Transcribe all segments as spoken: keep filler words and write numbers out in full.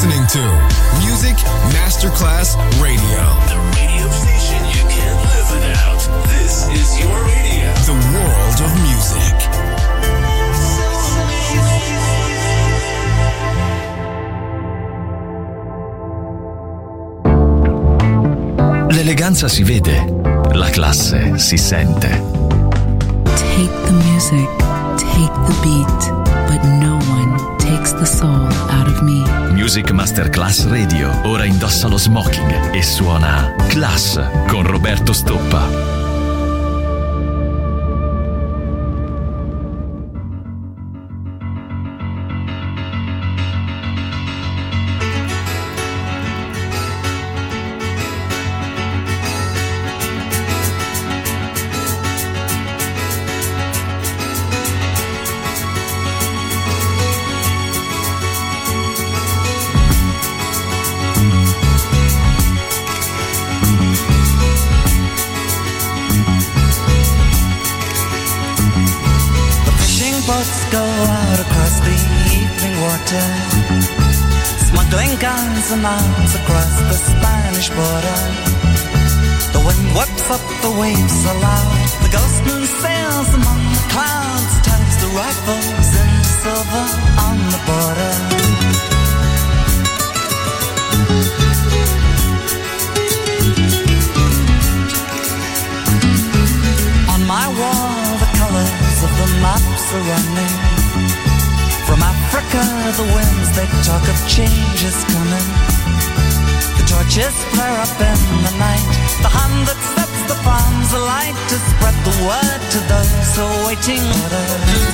listening to Music Masterclass Radio. The radio station you can't live without. This is your radio. The world of music. L'eleganza si vede, la classe si sente. Take the music, take the beat, but no one takes the soul out of me. Music Masterclass Radio ora indossa lo smoking e suona Class con Roberto Stoppa. Smuggling guns and arms across the Spanish border. The wind whips up the waves aloud. The ghost moon sails among the clouds, turns the rifles into silver on the border. On my wall the colors of the maps are running. From Africa, the winds, they talk of change is coming. The torches flare up in the night. The hand that sets the palms alight to spread the word to those who are waiting order.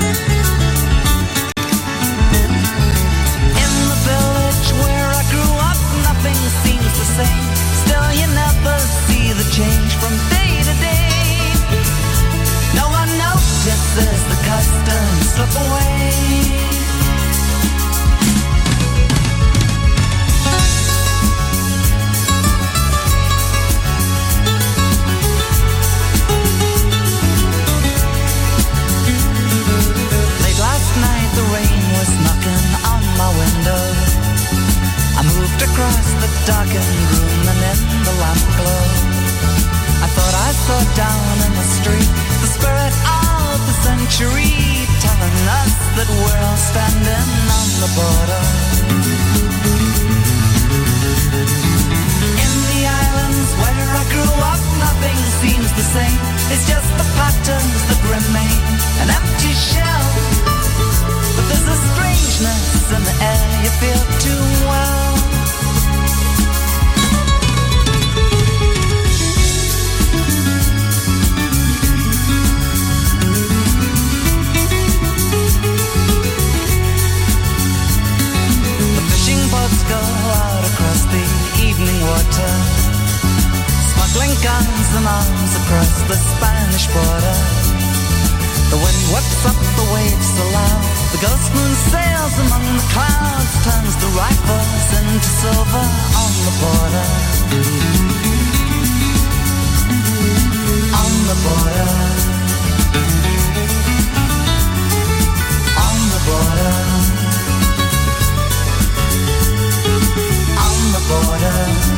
In the village where I grew up, nothing seems the same. Still, you never see the change from day to day. No one notices the customs slip away. Window. I moved across the darkened room and in the lamp glow I thought I saw down in the street the spirit of the century telling us that we're all standing on the border. In the islands where I grew up, nothing seems the same. It's just the patterns that remain, an empty shell. But there's a strangeness in the air you feel too well. The fishing boats go out across the evening water, smuggling guns and arms across the Spanish border. The wind whips up the waves aloud. The ghost moon sails among the clouds, turns the rifles into silver on the border. On the border. On the border. On the border.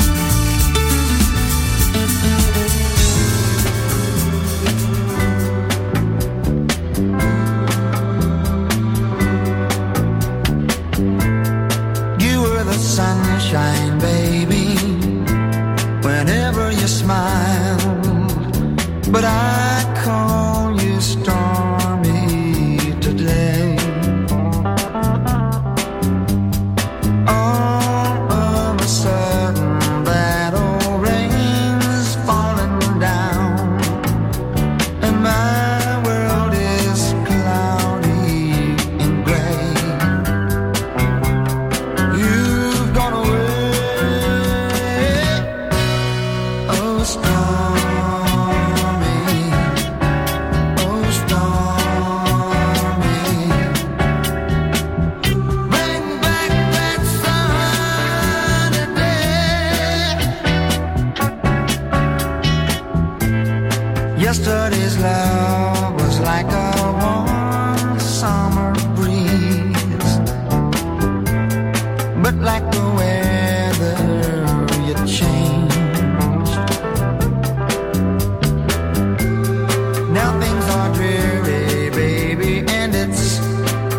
Sunshine, baby, whenever you smile, but I call you storm.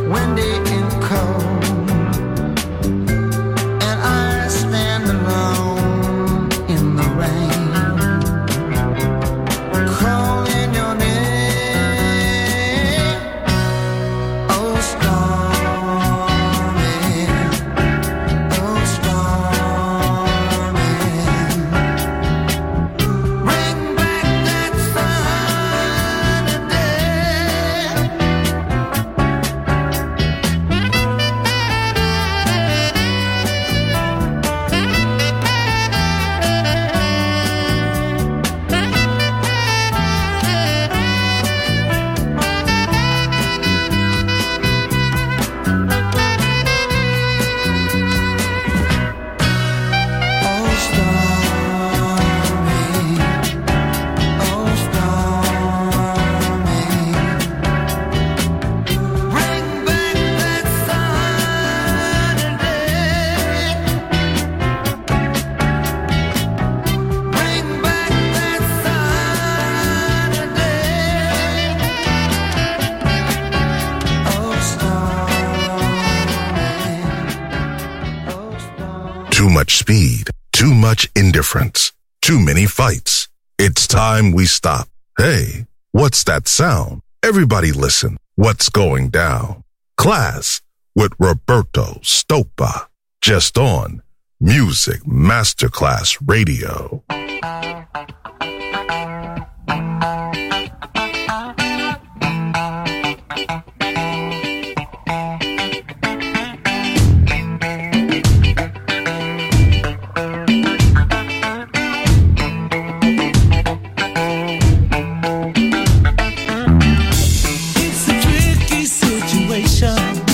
windy and cold, and I stand alone in the rain, calling your name. Oh, stormy, oh, stormy, bring back that sunny day. Oh, stormy, oh, stormy, bring back that sunny day. Bring back that sunny day. Oh, stormy, oh, stormy. Too much speed, too much indifference, too many fights. It's time we stop. Hey, what's that sound? Everybody listen. What's going down? Class with Roberto Stoppa. Just on Music Masterclass Radio. It's a tricky situation.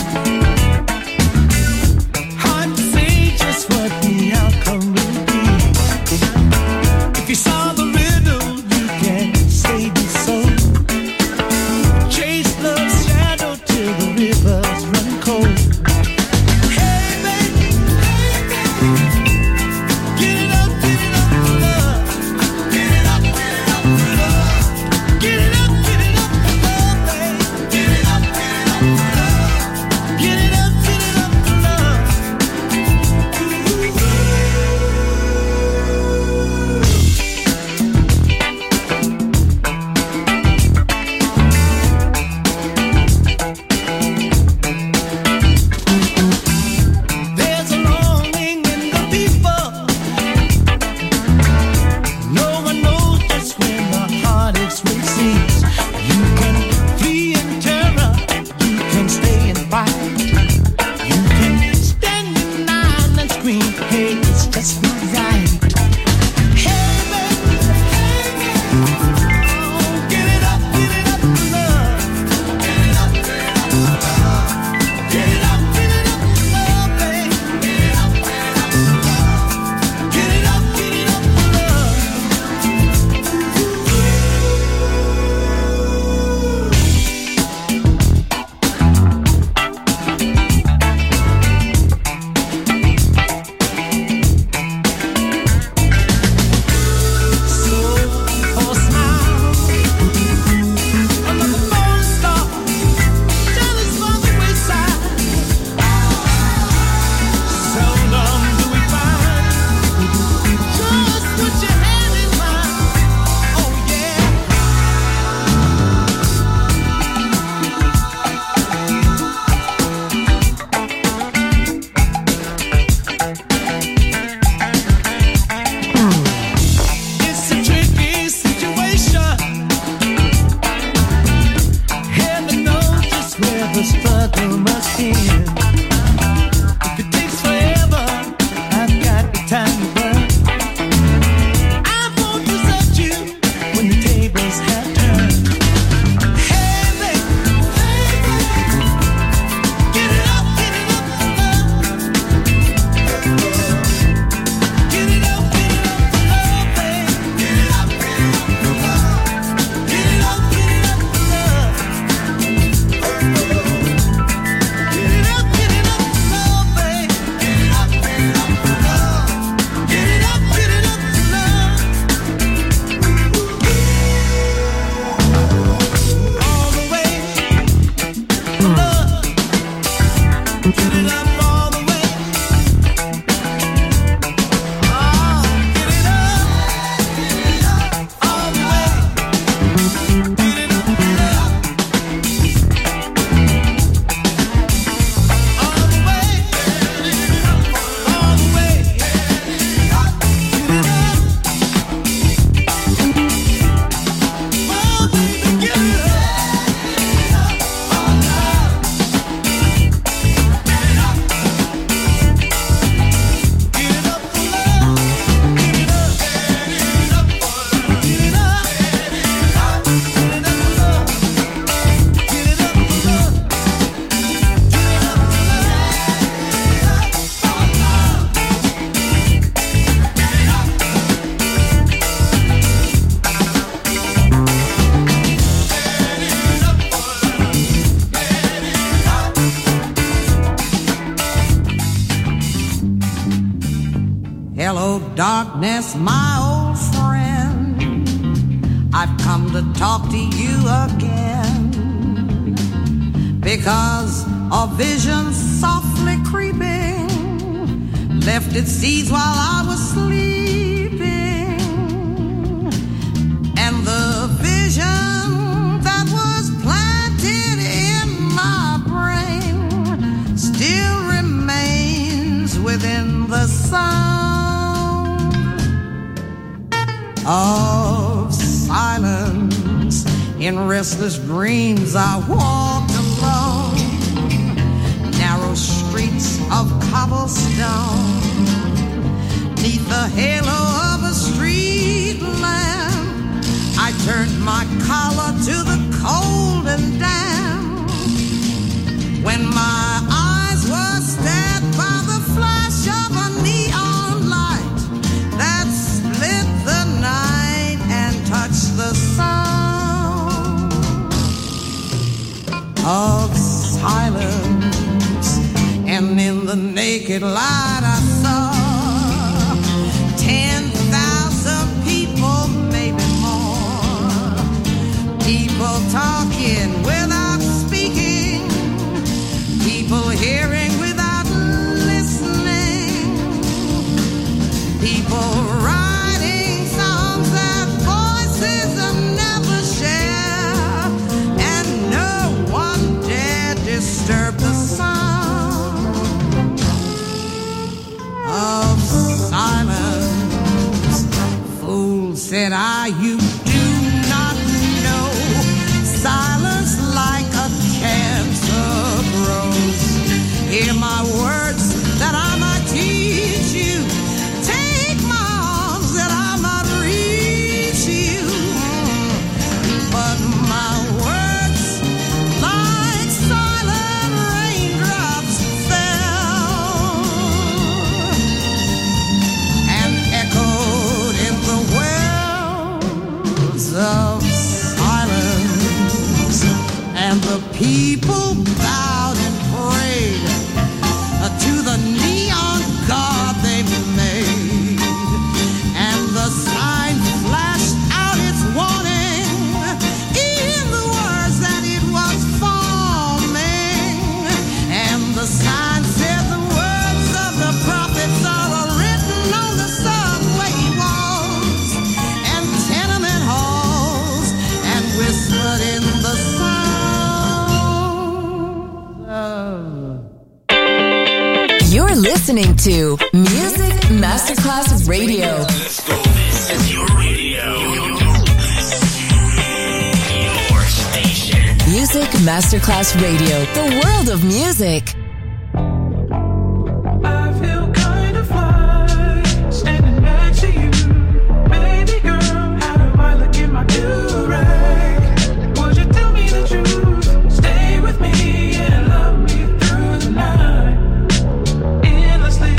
Hard to say just what the outcome will be. If you saw the riddle, you can say the soul. Chase love's shadow till the rivers run cold. Hey baby, hey baby, get it up, get it up for love. Get it up, get it up for love. Get it up, get it up for love, babe. Get it up, get it up for love. Get it up, get it up for love. There's a longing in the people. No one knows just when the heartaches will cease. You can flee in terror, you can stay and fight. You can stand in line and scream, hey, it's just not right. Hey baby, hey baby, oh, get it up, get it up for love. Get it up, get it up for love. Get it up, get it up for love, babe. Get it up, get it up for love. Get it up, get it up for love. So, for a smile, another phone star, jealous for the wayside. Seldom do we find just what you had in mind. Oh yeah. It's a tricky situation. Heaven knows just where the struggle must end. If it takes forever, I've got the time to burn. I won't desert you when the tables have turned. Hey baby, hey baby, get it up, get it up for love. Get it up, get it up for love, babe. Get it up, get it up for love. Get it up, get it up for love. Get it up, get it up. darkness, my old friend, I've come to talk to you again, because a vision softly creeping left its seeds while I was sleeping, and the vision that was planted in my brain still remains within the sound of silence. In restless dreams I walked along narrow streets of cobblestone, neath the halo of a street lamp. I turned my collar to the cold and damp, when my eyes were stabbed by the flash of a neon light that split the night and touched the sound of silence. And in the naked light I saw ten thousand people, maybe more, people talking without speaking, people hearing without listening, people writing songs that voices will never share, and no one dared disturb the sound of silence. Fool, said I, you do not know, silence like a cancer grows. Hear my words that I might teach you, take my arms that I might reach you, but my words like silent raindrops fell and echoed in the wells of silence, and the people bowed and prayed to the neon god they've made, and the sign flashed out its warning in the words that it was forming, and the sign said the words of the prophets are written on the subway walls and tenement halls, and whispered in the sound of. You're listening to Music Masterclass Radio. Let's go. This is your radio. Your station. Music Masterclass Radio, the world of music. I feel kind of fly, standing next to you. Baby girl, how do I look in my do-rag? Would you tell me the truth? Stay with me and love me through the night. Endlessly,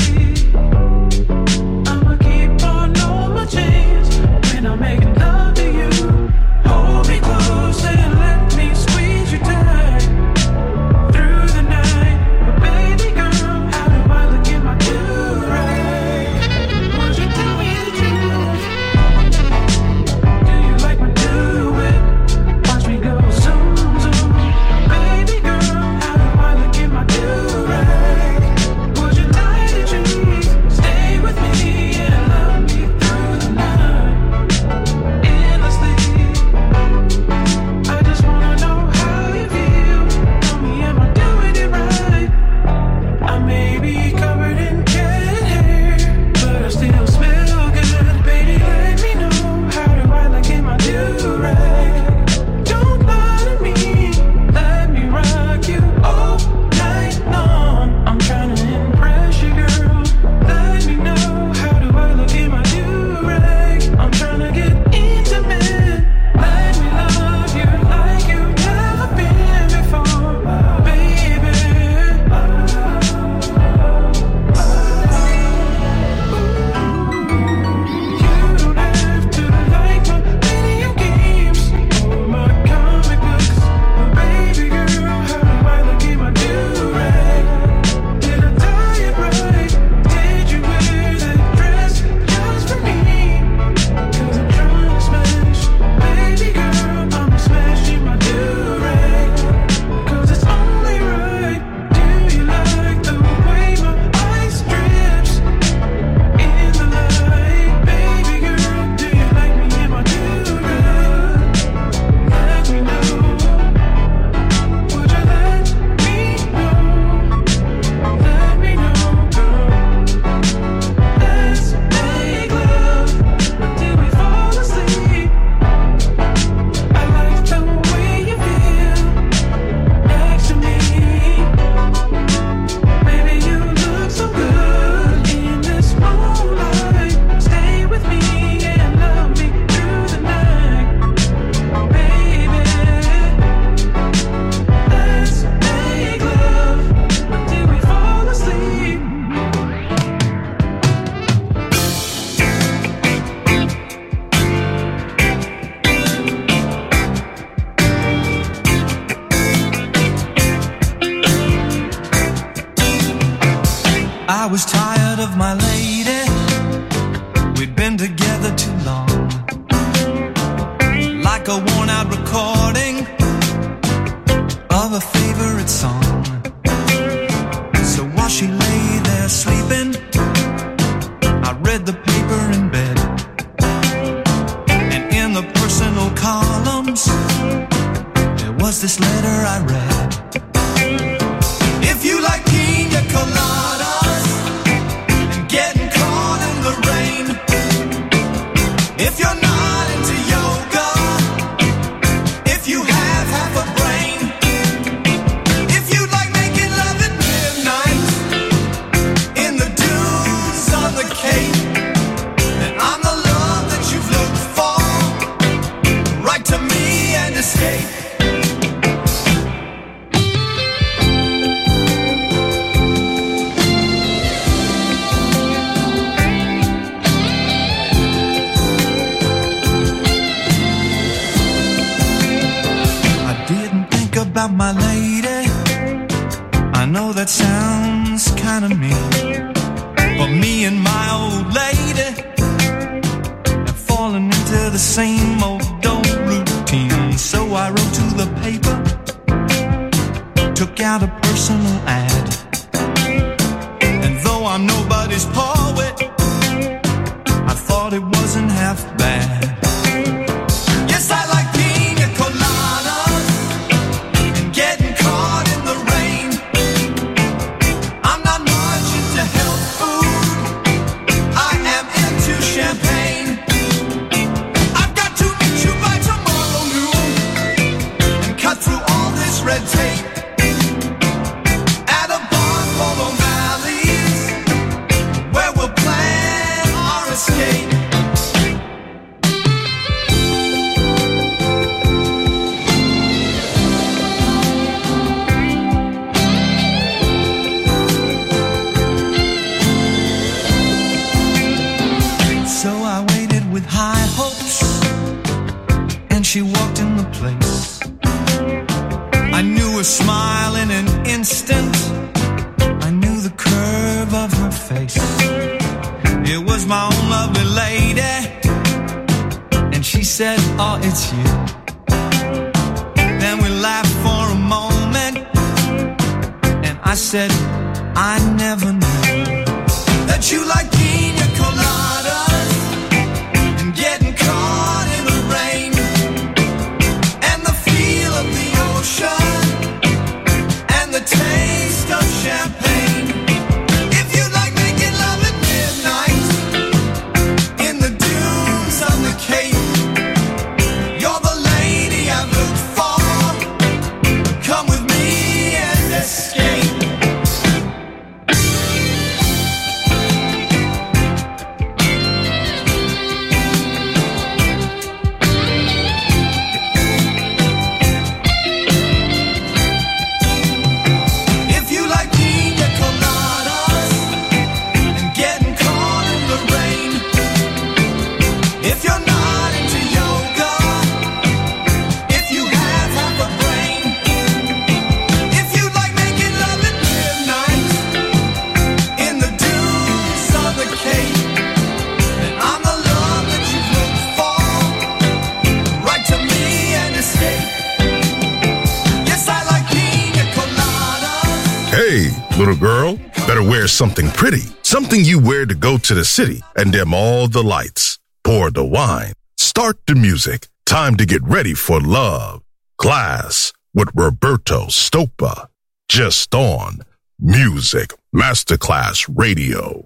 I'ma keep on all my chains when I'm making love to you. Hold me close and let me squeeze you tight through the night. I was tired of my lady. We'd been together too long, like a worn out recording of a favorite song. So while she lay there sleeping, I read the paper in bed, and in the personal columns there was this letter I read. If you like pina coladas and getting caught in the rain, if you're not into yoga, if you have half a brain, if you like making love at midnight in the dunes on the Cape, then I'm the love that you've looked for. Write to me and escape. About my lady, I know that sounds kinda mean, but me and my old lady have fallen into the same old old routine. So I wrote to the paper, took out a personal ad, and though I'm nobody's poet, I thought it wasn't half bad. Yes, I like pina coladas, getting caught in the rain. I'm not much into health food, I am into champagne. I've got to meet you by tomorrow noon and cut through all this red tape at a bar called O'Malley's, where we'll plan our escape. High hopes, and she walked in the place. I knew her smile in an instant, I knew the curve of her face. It was my own lovely lady, and she said, oh, it's you. Then we laughed for a moment, and I said, I never knew that you like pina coladas, getting caught in the rain, and the feel of the ocean, and the taste of champagne. If you like making love at midnight in the dunes on the Cape, you're the lady I've looked for. Come with me and escape. Little girl, better wear something pretty, something you wear to go to the city and dim all the lights. Pour the wine, start the music. Time to get ready for love. Class with Roberto Stoppa. Just on Music Masterclass Radio.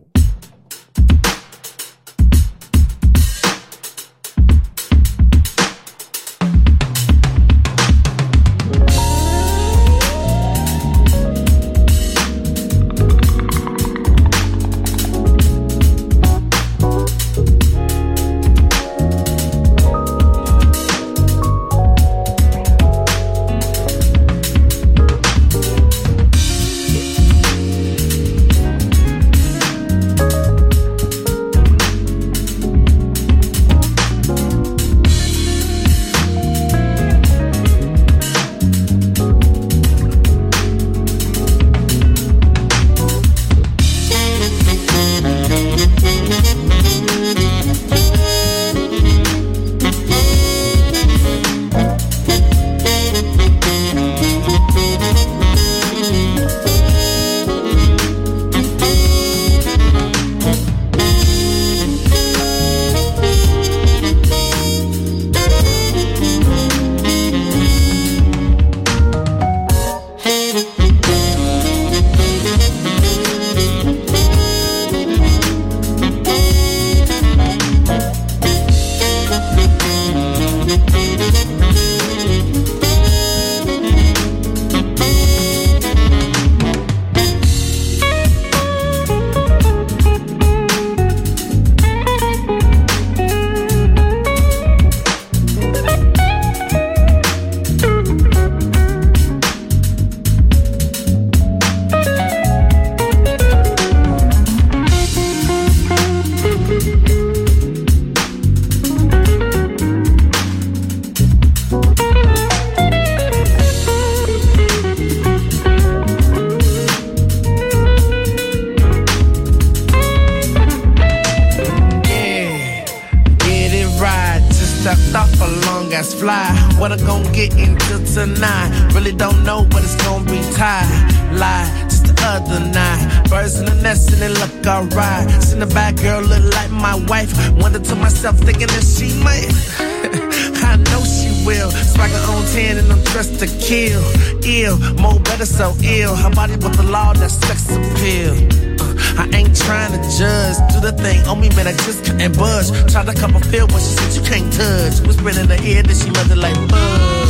tonight. Really don't know, but it's gonna be tied. Lie, just the other night. Birds in the nest and they look alright. Seen the bad girl look like my wife. Wonder to myself, thinking that she might. I know she will. Swagger on ten and I'm dressed to kill. Ill, more better, so ill. Her body with the law, that sex appeal. Uh, I ain't trying to judge. Do the thing on me, man, I just couldn't budge. Tried to cup a feel when she said you can't touch. Whispered in her ear that she loved it like buzz.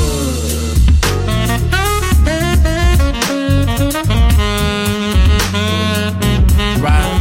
Right.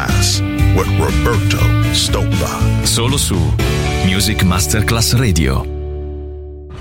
With Roberto Stoppa. Solo su Music Masterclass Radio.